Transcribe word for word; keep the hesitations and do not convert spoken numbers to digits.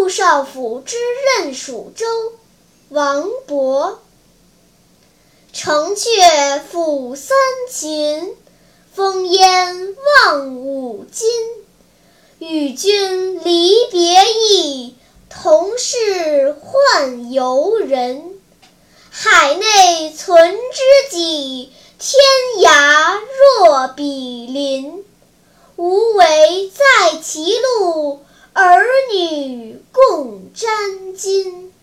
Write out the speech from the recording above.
陆少府之任蜀州，王勃。城阙辅三秦，烽烟望五津。与君离别意，同是宦游人。海内存知己，天涯若比邻。无为在歧路，儿女共沾巾。